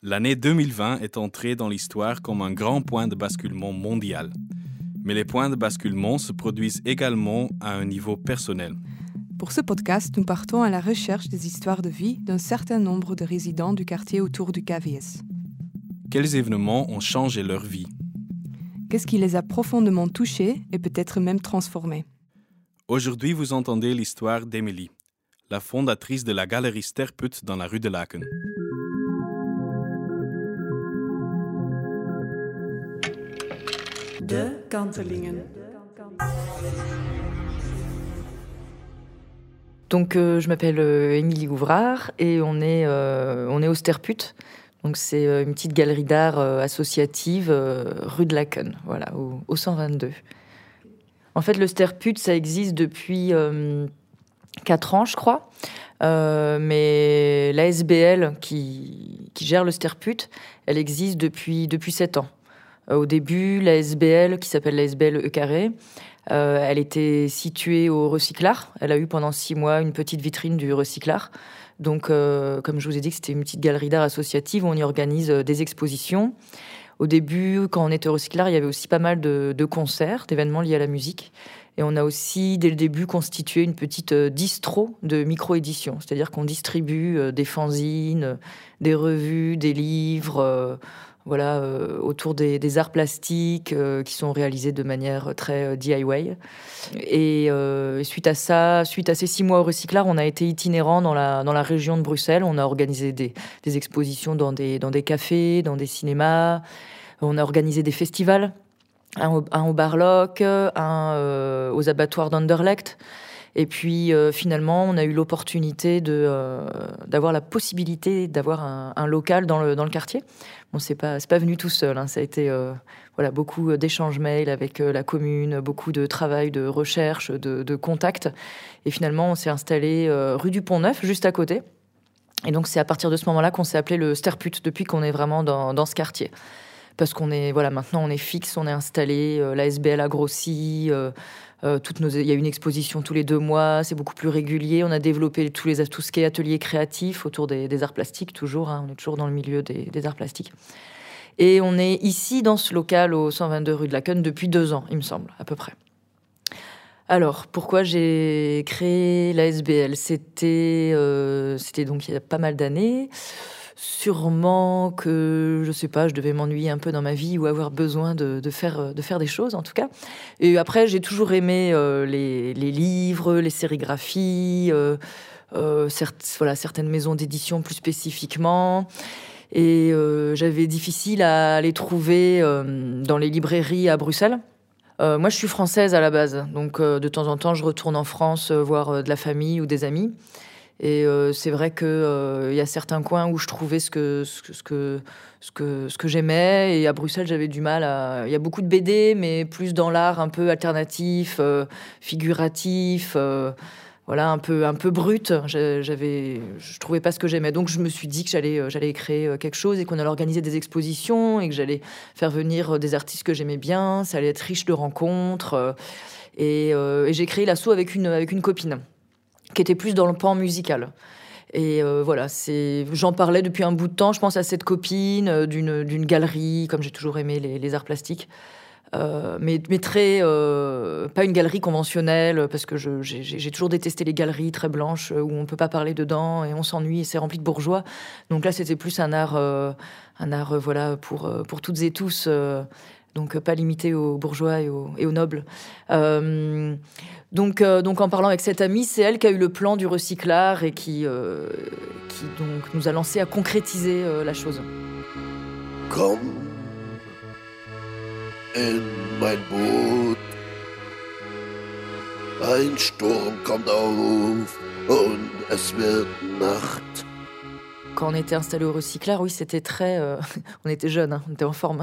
L'année 2020 est entrée dans l'histoire comme un grand point de basculement mondial. Mais les points de basculement se produisent également à un niveau personnel. Pour ce podcast, nous partons à la recherche des histoires de vie d'un certain nombre de résidents du quartier autour du KVS. Quels événements ont changé leur vie? Qu'est-ce qui les a profondément touchés et peut-être même transformés? Aujourd'hui, vous entendez l'histoire d'Emilie, la fondatrice de la galerie Sterput dans la rue de Laken. De Kantelingen. Donc, je m'appelle Émilie Ouvrard et on est au Sterput. Donc, c'est une petite galerie d'art associative rue de Laken, voilà, au 122. En fait, le Sterput, ça existe depuis 4 ans, je crois. Mais l'ASBL qui gère le Sterput, elle existe depuis 7 ans. Au début, l'ASBL, qui s'appelle l'ASBL E-Carré, elle était située au Recyclard. Elle a eu pendant 6 mois une petite vitrine du Recyclard. Donc, comme je vous ai dit, c'était une petite galerie d'art associative où on y organise des expositions. Au début, quand on était au Recyclard, il y avait aussi pas mal de concerts, d'événements liés à la musique. Et on a aussi, dès le début, constitué une petite distro de micro-édition. C'est-à-dire qu'on distribue des fanzines, des revues, des livres... autour des arts plastiques qui sont réalisés de manière très DIY. Et suite à ces 6 mois au Recyclard, on a été itinérant dans la région de Bruxelles. On a organisé des expositions dans des cafés, dans des cinémas. On a organisé des festivals, un au Barlock, un aux abattoirs d'Anderlecht. Et puis finalement, on a eu l'opportunité d'avoir la possibilité d'avoir un local dans le quartier. Bon, c'est pas venu tout seul, hein. Ça a été beaucoup d'échanges mails avec la commune, beaucoup de travail, de recherche, de contacts. Et finalement, on s'est installé rue du Pont-Neuf, juste à côté. Et donc, c'est à partir de ce moment-là qu'on s'est appelé le Sterput, depuis qu'on est vraiment dans ce quartier. Parce qu'on est, maintenant, on est fixe, on est installé, la SBL a grossi, il y a une exposition tous les 2 mois, c'est beaucoup plus régulier. On a développé tout ce qui est ateliers créatifs autour des arts plastiques, toujours. Hein, on est toujours dans le milieu des arts plastiques. Et on est ici, dans ce local, au 122 rue de Laken, depuis 2 ans, il me semble, à peu près. Alors, pourquoi j'ai créé la SBL? C'était donc il y a pas mal d'années. Sûrement que, je sais pas, je devais m'ennuyer un peu dans ma vie ou avoir besoin de faire des choses, en tout cas. Et après, j'ai toujours aimé les livres, les sérigraphies, certaines maisons d'édition plus spécifiquement. Et j'avais difficile à les trouver dans les librairies à Bruxelles. Moi, je suis française à la base, donc de temps en temps, je retourne en France voir de la famille ou des amis. Et c'est vrai que y a certains coins où je trouvais ce que j'aimais, et à Bruxelles j'avais du mal il y a beaucoup de BD, mais plus dans l'art un peu alternatif, figuratif, un peu brut. Je trouvais pas ce que j'aimais, donc je me suis dit que j'allais créer quelque chose et qu'on allait organiser des expositions et que j'allais faire venir des artistes que j'aimais bien. Ça allait être riche de rencontres, et j'ai créé l'asso avec une copine qui était plus dans le pan musical. Et j'en parlais depuis un bout de temps. Je pense à cette copine d'une galerie, comme j'ai toujours aimé les arts plastiques, mais très pas une galerie conventionnelle, parce que j'ai toujours détesté les galeries très blanches où on peut pas parler dedans et on s'ennuie et c'est rempli de bourgeois. Donc là, c'était plus un art pour toutes et tous. Donc pas limité aux bourgeois et aux nobles. Donc en parlant avec cette amie, c'est elle qui a eu le plan du Recyclard et qui donc nous a lancé à concrétiser la chose. Komm in mein Boot, ein Sturm kommt auf und es wird Nacht. Quand on était installé au Recyclard, oui, c'était très... on était jeunes, hein, on était en forme.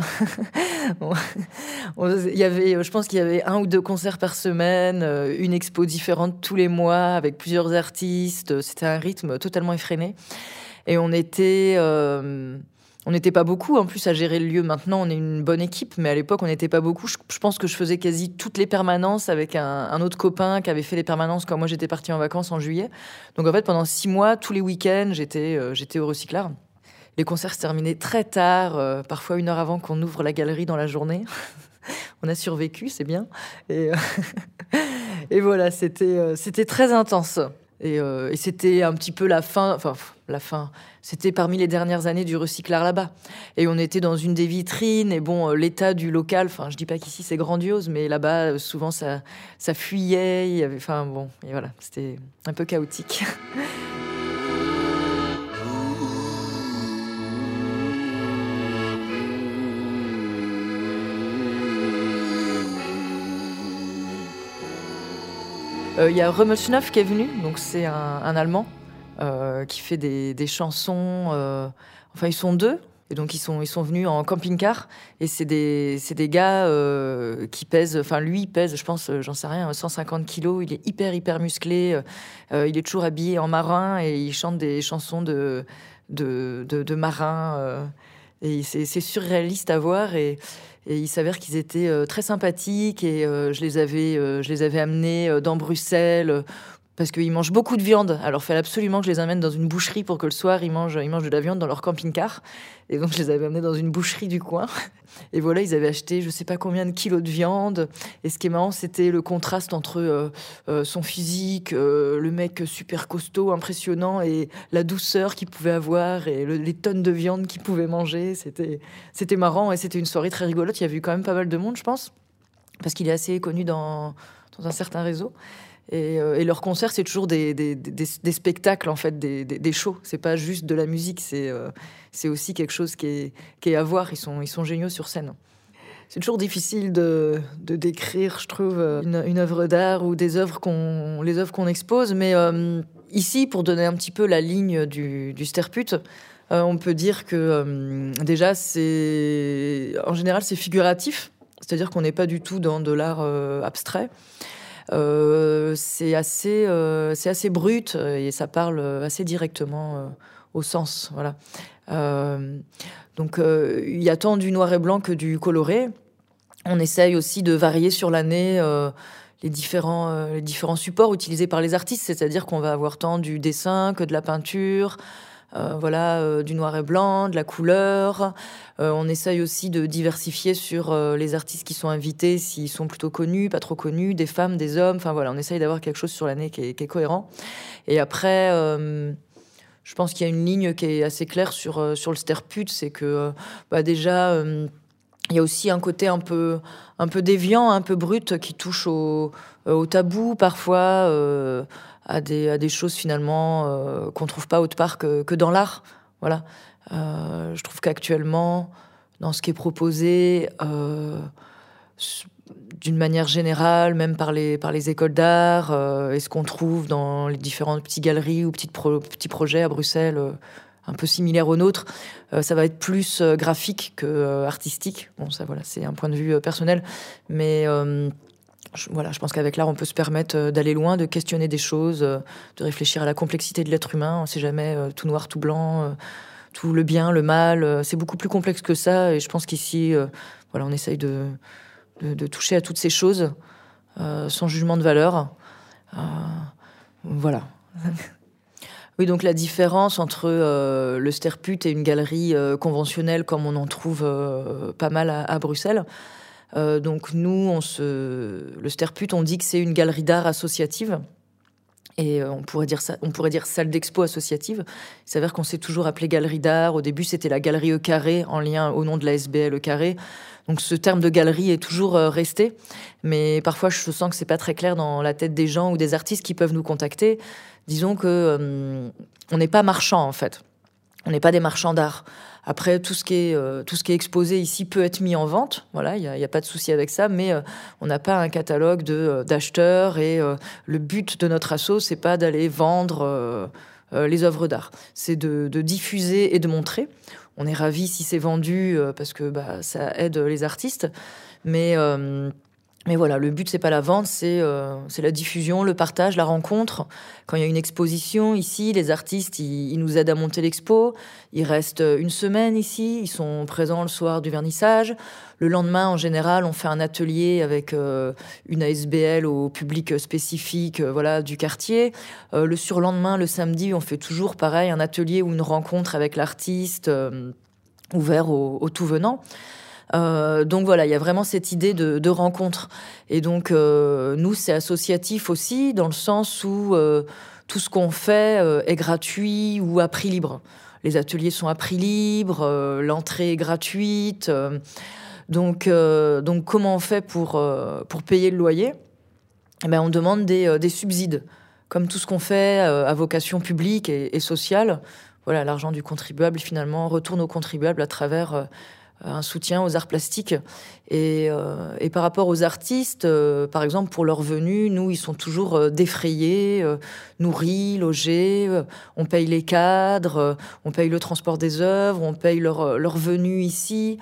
Je pense qu'il y avait 1 ou 2 concerts par semaine, une expo différente tous les mois, avec plusieurs artistes. C'était un rythme totalement effréné. Et on était... On n'était pas beaucoup, en plus, à gérer le lieu. Maintenant, on est une bonne équipe, mais à l'époque, on n'était pas beaucoup. Je pense que je faisais quasi toutes les permanences avec un autre copain qui avait fait les permanences quand moi, j'étais partie en vacances en juillet. Donc, en fait, pendant 6 mois, tous les week-ends, j'étais au Recyclard. Les concerts se terminaient très tard, parfois 1 heure avant qu'on ouvre la galerie dans la journée. On a survécu, c'est bien. Et voilà, c'était très intense. Et c'était un petit peu la fin. C'était parmi les dernières années du recyclard là-bas. Et on était dans une des vitrines. Et bon, l'état du local, je dis pas qu'ici c'est grandiose, mais là-bas, souvent, ça fuyait. Il y avait, et voilà, c'était un peu chaotique. Il y a Römelschnupf qui est venu, donc c'est un Allemand qui fait des chansons. Ils sont 2, et donc ils sont venus en camping-car. Et c'est des gars qui pèsent. Lui, il pèse, je pense, j'en sais rien, 150 kilos. Il est hyper musclé. Il est toujours habillé en marin et il chante des chansons de marins. Et c'est surréaliste à voir. Et il s'avère qu'ils étaient très sympathiques et je les avais amenés dans Bruxelles parce qu'ils mangent beaucoup de viande. Alors, il fallait absolument que je les amène dans une boucherie pour que le soir, ils mangent de la viande dans leur camping-car. Et donc, je les avais amenés dans une boucherie du coin. Et voilà, ils avaient acheté je sais pas combien de kilos de viande. Et ce qui est marrant, c'était le contraste entre son physique, le mec super costaud, impressionnant, et la douceur qu'il pouvait avoir et les tonnes de viande qu'il pouvait manger. C'était marrant et c'était une soirée très rigolote. Il y avait eu quand même pas mal de monde, je pense, parce qu'il est assez connu dans un certain réseau. Et leur concert, c'est toujours des spectacles, en fait, des shows. C'est pas juste de la musique, c'est aussi quelque chose qui est à voir. Ils sont géniaux sur scène. C'est toujours difficile de décrire, je trouve, une œuvre d'art ou les œuvres qu'on expose. Mais ici, pour donner un petit peu la ligne du Sterput, on peut dire que déjà, en général, c'est figuratif. C'est-à-dire qu'on n'est pas du tout dans de l'art abstrait. C'est assez brut et ça parle assez directement au sens, voilà. Donc il y a tant du noir et blanc que du coloré. On essaye aussi de varier sur l'année les différents supports utilisés par les artistes, c'est-à-dire qu'on va avoir tant du dessin que de la peinture. Du noir et blanc, de la couleur. On essaye aussi de diversifier sur les artistes qui sont invités, s'ils sont plutôt connus, pas trop connus, des femmes, des hommes. On essaye d'avoir quelque chose sur l'année qui est cohérent. Et après, je pense qu'il y a une ligne qui est assez claire sur le Sterput, c'est que déjà, il y a aussi un côté un peu déviant, un peu brut, qui touche au tabou parfois. À des choses finalement qu'on trouve pas autre part que dans l'art. Voilà. Je trouve qu'actuellement, dans ce qui est proposé, d'une manière générale, même par les écoles d'art, et ce qu'on trouve dans les différentes petites galeries ou petits projets à Bruxelles, un peu similaires aux nôtres, ça va être plus graphique que artistique. Bon, ça, voilà, c'est un point de vue personnel, mais je pense qu'avec l'art, on peut se permettre d'aller loin, de questionner des choses, de réfléchir à la complexité de l'être humain. On ne sait jamais tout noir, tout blanc, tout le bien, le mal. C'est beaucoup plus complexe que ça. Et je pense qu'ici, on essaye de toucher à toutes ces choses sans jugement de valeur. Voilà. Oui, donc la différence entre le Sterput et une galerie conventionnelle, comme on en trouve pas mal à Bruxelles. Donc nous, le Sterput, on dit que c'est une galerie d'art associative. Et on pourrait dire salle d'expo associative. Il s'avère qu'on s'est toujours appelé galerie d'art. Au début, c'était la galerie E Carré, en lien au nom de la SBL E Carré. Donc ce terme de galerie est toujours resté. Mais parfois, je sens que c'est pas très clair dans la tête des gens ou des artistes qui peuvent nous contacter. Disons que on n'est pas marchand, en fait. On n'est pas des marchands d'art. Après, tout ce qui est exposé ici peut être mis en vente. Voilà, il y a pas de souci avec ça, mais on n'a pas un catalogue d'acheteurs et le but de notre asso, c'est pas d'aller vendre les œuvres d'art. C'est de diffuser et de montrer. On est ravis si c'est vendu parce que ça aide les artistes, mais Mais voilà, le but, c'est pas la vente, c'est la diffusion, le partage, la rencontre. Quand il y a une exposition ici, les artistes, ils nous aident à monter l'expo. Ils restent une semaine ici, ils sont présents le soir du vernissage. Le lendemain, en général, on fait un atelier avec une ASBL au public spécifique voilà, du quartier. Le surlendemain, le samedi, on fait toujours pareil, un atelier ou une rencontre avec l'artiste ouvert aux tout venants. Donc voilà, il y a vraiment cette idée de rencontre. Et donc, nous, c'est associatif aussi, dans le sens où tout ce qu'on fait est gratuit ou à prix libre. Les ateliers sont à prix libre, l'entrée est gratuite. Donc, comment on fait pour payer le loyer ? Eh ben, on demande des subsides. Comme tout ce qu'on fait à vocation publique et sociale, voilà, l'argent du contribuable, finalement, retourne aux contribuables à travers un soutien aux arts plastiques. Et par rapport aux artistes, par exemple, pour leurs venus, nous, ils sont toujours défrayés, nourris, logés, on paye les cadres, on paye le transport des œuvres, on paye leur venue ici.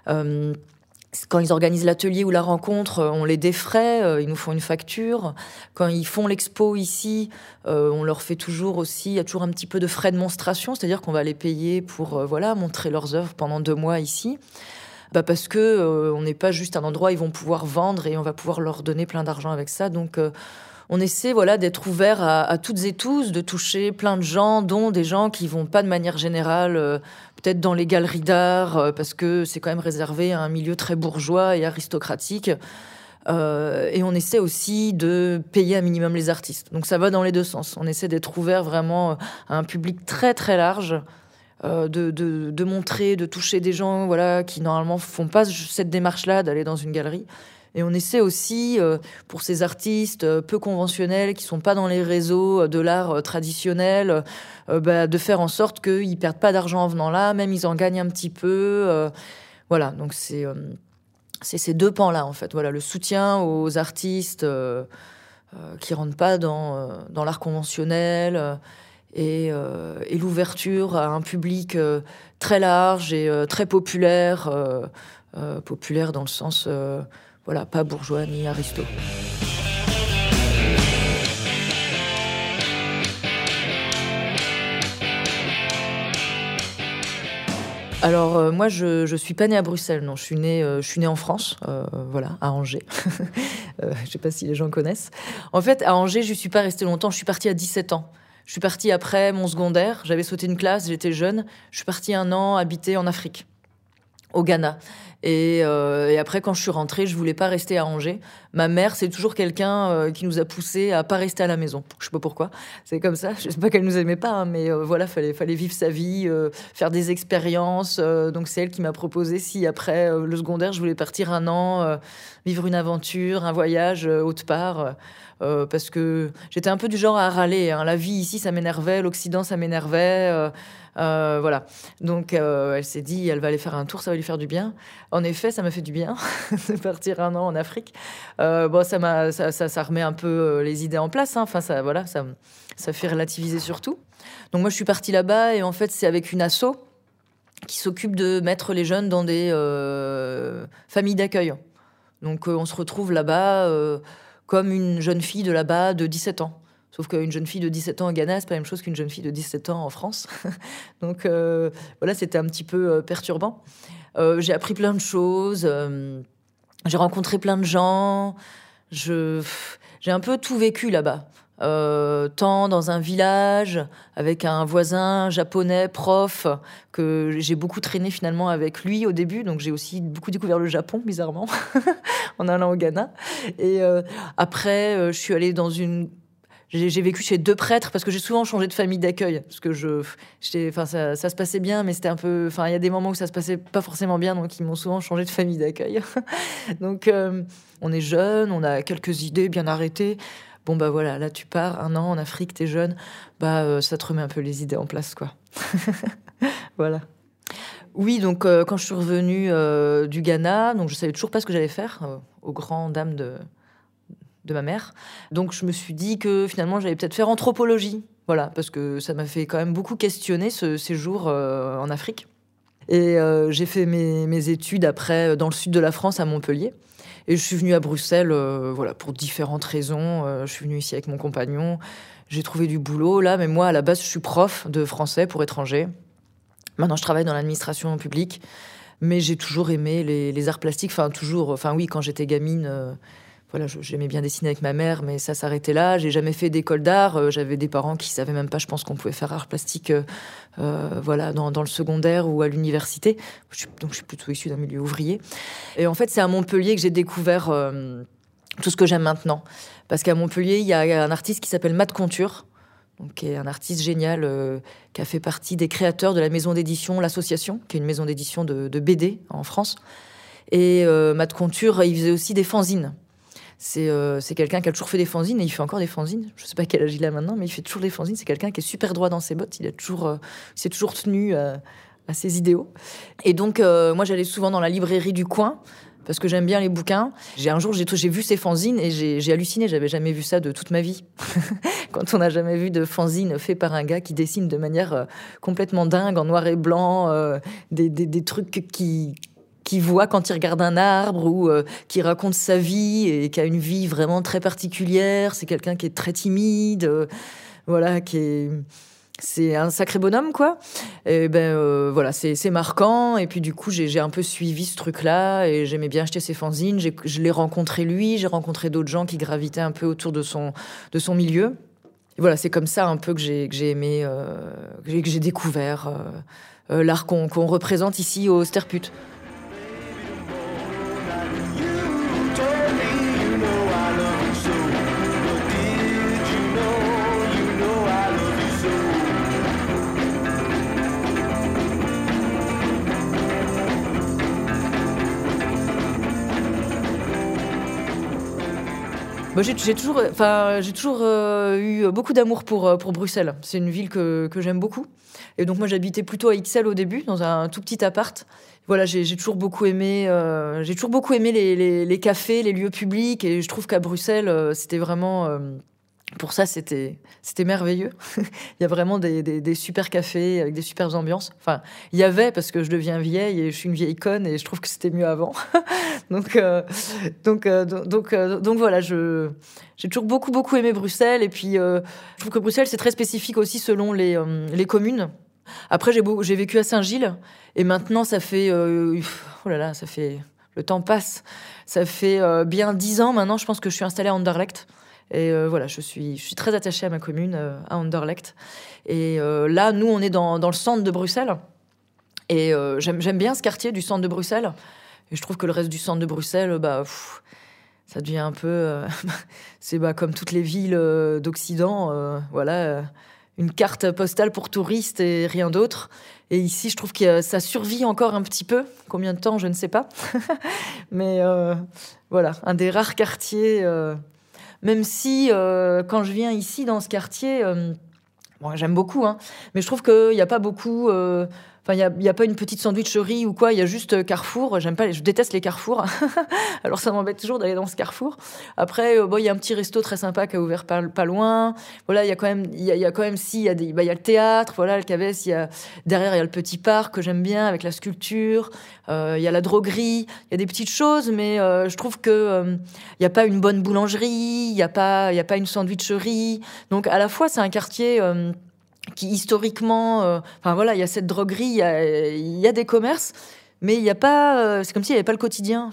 Quand ils organisent l'atelier ou la rencontre, on les défraie, ils nous font une facture. Quand ils font l'expo ici, on leur fait toujours aussi, il y a toujours un petit peu de frais de monstration, c'est-à-dire qu'on va les payer pour montrer leurs œuvres pendant 2 mois ici. Parce que on n'est pas juste un endroit où ils vont pouvoir vendre et on va pouvoir leur donner plein d'argent avec ça. Donc on essaie d'être ouvert à toutes et tous, de toucher plein de gens, dont des gens qui vont pas de manière générale peut-être dans les galeries d'art, parce que c'est quand même réservé à un milieu très bourgeois et aristocratique. Et on essaie aussi de payer un minimum les artistes. Donc ça va dans les deux sens. On essaie d'être ouvert vraiment à un public très très large, de montrer, de toucher des gens qui normalement font pas cette démarche-là d'aller dans une galerie. Et on essaie aussi, pour ces artistes peu conventionnels, qui sont pas dans les réseaux de l'art traditionnel, de faire en sorte qu'ils perdent pas d'argent en venant là, même ils en gagnent un petit peu. Voilà, donc c'est ces 2 pans-là, en fait. Voilà, le soutien aux artistes qui rentrent pas dans l'art conventionnel et l'ouverture à un public très large et très populaire. Populaire dans le sens... pas bourgeois ni aristo. Alors moi je suis pas née à Bruxelles, non, je suis née en France, à Angers. Je sais pas si les gens connaissent. En fait, à Angers, je suis pas restée longtemps, je suis partie à 17 ans. Je suis partie après mon secondaire, j'avais sauté une classe, j'étais jeune, je suis partie 1 an habiter en Afrique, au Ghana. Et après, quand je suis rentrée, je voulais pas rester à Angers. Ma mère, c'est toujours quelqu'un qui nous a poussés à pas rester à la maison. Je sais pas pourquoi. C'est comme ça. Je sais pas qu'elle nous aimait pas, hein, mais fallait vivre sa vie, faire des expériences. Donc c'est elle qui m'a proposé si après le secondaire, je voulais partir 1 an, vivre une aventure, un voyage autre part. Parce que j'étais un peu du genre à râler, hein. La vie ici, ça m'énervait. L'Occident, ça m'énervait. Voilà. Donc, elle s'est dit, elle va aller faire un tour, ça va lui faire du bien. En effet, ça m'a fait du bien de partir 1 an en Afrique. Ça remet un peu les idées en place, hein. Enfin, ça fait relativiser surtout. Donc, moi, je suis partie là-bas et en fait, c'est avec une asso qui s'occupe de mettre les jeunes dans des familles d'accueil. Donc, on se retrouve là-bas comme une jeune fille de là-bas de 17 ans. Sauf qu'une jeune fille de 17 ans au Ghana, c'est pas la même chose qu'une jeune fille de 17 ans en France. Donc c'était un petit peu perturbant. J'ai appris plein de choses. J'ai rencontré plein de gens. J'ai un peu tout vécu là-bas. Tant dans un village, avec un voisin japonais, prof, que j'ai beaucoup traîné finalement avec lui au début. Donc j'ai aussi beaucoup découvert le Japon, bizarrement, en allant au Ghana. Et après, je suis allée dans une... J'ai vécu chez 2 prêtres parce que j'ai souvent changé de famille d'accueil parce que ça se passait bien, mais c'était un peu, il y a des moments où ça se passait pas forcément bien, donc ils m'ont souvent changé de famille d'accueil. Donc on est jeune, on a quelques idées bien arrêtées. Bon voilà, là tu pars 1 an en Afrique, t'es jeune, ça te remet un peu les idées en place, quoi. Voilà. Oui, donc quand je suis revenue du Ghana, donc je savais toujours pas ce que j'allais faire, aux grandes dames de ma mère. Donc je me suis dit que finalement j'allais peut-être faire anthropologie, parce que ça m'a fait quand même beaucoup questionner ce séjour en Afrique. Et j'ai fait mes études après dans le sud de la France, à Montpellier. Et je suis venue à Bruxelles pour différentes raisons. Je suis venue ici avec mon compagnon. J'ai trouvé du boulot là, mais moi, à la base, je suis prof de français pour étrangers. Maintenant, je travaille dans l'administration publique. Mais j'ai toujours aimé les arts plastiques. Oui, quand j'étais gamine... j'aimais bien dessiner avec ma mère, mais ça s'arrêtait là. J'ai jamais fait d'école d'art. J'avais des parents qui savaient même pas, je pense, qu'on pouvait faire art plastique dans le secondaire ou à l'université. Donc je suis plutôt issue d'un milieu ouvrier. Et en fait, c'est à Montpellier que j'ai découvert tout ce que j'aime maintenant. Parce qu'à Montpellier, il y a un artiste qui s'appelle Matt Conture, donc, qui est un artiste génial, qui a fait partie des créateurs de la maison d'édition L'Association, qui est une maison d'édition de BD en France. Et Matt Conture, il faisait aussi des fanzines. C'est quelqu'un qui a toujours fait des fanzines et il fait encore des fanzines. Je sais pas quel âge il a maintenant, mais il fait toujours des fanzines. C'est quelqu'un qui est super droit dans ses bottes. Il s'est toujours tenu à ses idéaux. Et donc, moi, j'allais souvent dans la librairie du coin parce que j'aime bien les bouquins. Un jour, j'ai vu ces fanzines et j'ai halluciné. J'avais jamais vu ça de toute ma vie. Quand on n'a jamais vu de fanzine fait par un gars qui dessine de manière complètement dingue, en noir et blanc, des trucs qui voit quand il regarde un arbre ou qui raconte sa vie et qui a une vie vraiment très particulière. C'est quelqu'un qui est très timide, c'est un sacré bonhomme, quoi. Et c'est marquant. Et puis du coup, j'ai un peu suivi ce truc-là et j'aimais bien acheter ses fanzines. Je l'ai rencontré lui, j'ai rencontré d'autres gens qui gravitaient un peu autour de son milieu. Et voilà, c'est comme ça un peu que j'ai aimé, que j'ai découvert l'art qu'on représente ici au Sterput. J'ai toujours eu beaucoup d'amour pour Bruxelles. C'est une ville que j'aime beaucoup. Et donc moi, j'habitais plutôt à Ixelles au début, dans un tout petit appart. Voilà, j'ai toujours beaucoup aimé les cafés, les lieux publics. Et je trouve qu'à Bruxelles, c'était vraiment... pour ça, c'était merveilleux. Il y a vraiment des super cafés avec des super ambiances. Enfin, il y avait, parce que je deviens vieille et je suis une vieille conne et je trouve que c'était mieux avant. donc voilà, j'ai toujours beaucoup aimé Bruxelles. Et puis, je trouve que Bruxelles, c'est très spécifique aussi selon les communes. Après, j'ai vécu à Saint-Gilles et maintenant, ça fait... le temps passe. Ça fait bien 10 ans maintenant, je pense que je suis installée à Anderlecht. Et je suis très attachée à ma commune, à Anderlecht. Et là, nous, on est dans le centre de Bruxelles. Et j'aime bien ce quartier du centre de Bruxelles. Et je trouve que le reste du centre de Bruxelles, ça devient un peu... c'est comme toutes les villes d'Occident, une carte postale pour touristes et rien d'autre. Et ici, je trouve que ça survit encore un petit peu. Combien de temps, je ne sais pas. Mais un des rares quartiers... Même si, quand je viens ici, dans ce quartier, j'aime beaucoup, hein, mais je trouve qu'il n'y a pas beaucoup... il y a pas une petite sandwicherie ou quoi, il y a juste Carrefour. Je déteste les carrefours. Alors ça m'embête toujours d'aller dans ce Carrefour. Après, il y a un petit resto très sympa qui a ouvert pas loin. Voilà, il y a quand même il y a le théâtre, voilà, le Cavès, derrière il y a le petit parc que j'aime bien avec la sculpture. Il y a la droguerie, il y a des petites choses, mais je trouve que il y a pas une bonne boulangerie, il y a pas une sandwicherie. Donc à la fois c'est un quartier qui historiquement, il y a cette droguerie, il y a des commerces, mais il y a pas, c'est comme s'il n'y avait pas le quotidien.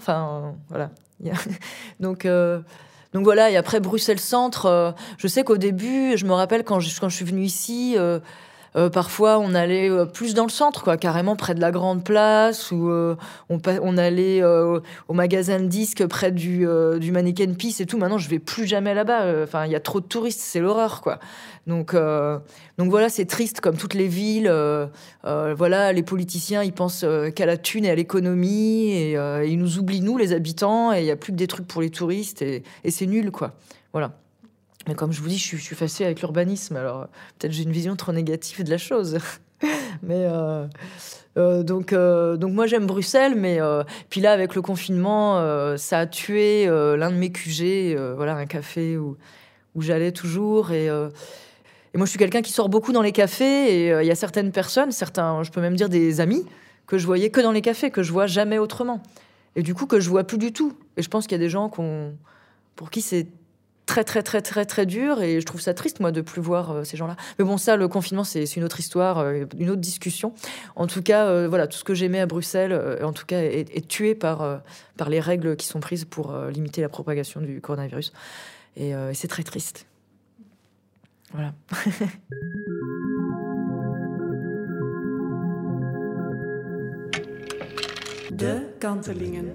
Donc voilà. Et après Bruxelles Centre, je sais qu'au début, je me rappelle quand je suis venue ici. Parfois, on allait plus dans le centre, quoi, carrément près de la Grande Place, ou on allait au magasin de disques près du Mannequin Peace et tout. Maintenant, je vais plus jamais là-bas. Il y a trop de touristes, c'est l'horreur, quoi. Donc voilà, c'est triste comme toutes les villes. Les politiciens, ils pensent qu'à la thune et à l'économie, et ils nous oublient, nous, les habitants, et il y a plus que des trucs pour les touristes, et c'est nul, quoi. Voilà. Mais comme je vous dis, je suis fâchée avec l'urbanisme, alors peut-être j'ai une vision trop négative de la chose. Mais donc moi j'aime Bruxelles, mais puis là avec le confinement, ça a tué l'un de mes QG, un café où j'allais toujours. Et moi je suis quelqu'un qui sort beaucoup dans les cafés, et il y a certaines personnes, je peux même dire des amis, que je voyais que dans les cafés, que je vois jamais autrement. Et du coup, que je vois plus du tout. Et je pense qu'il y a des gens pour qui c'est très, très, très, très, très dur. Et je trouve ça triste, moi, de plus voir ces gens-là. Mais bon, ça, le confinement, c'est une autre histoire, une autre discussion. En tout cas, voilà, tout ce que j'aimais à Bruxelles, en tout cas, est tué par les règles qui sont prises pour limiter la propagation du coronavirus. Et c'est très triste. Voilà. De Kantelingen.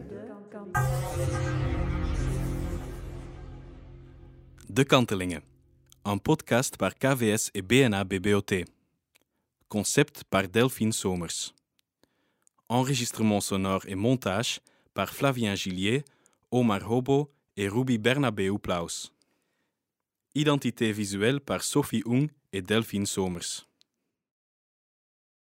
De Kantelingen, un podcast par KVS et BNA BBOT. Concept par Delphine Somers. Enregistrement sonore et montage par Flavien Gillier, Omar Hobo et Ruby Bernabeu Plaus. Identité visuelle par Sophie Ung et Delphine Somers.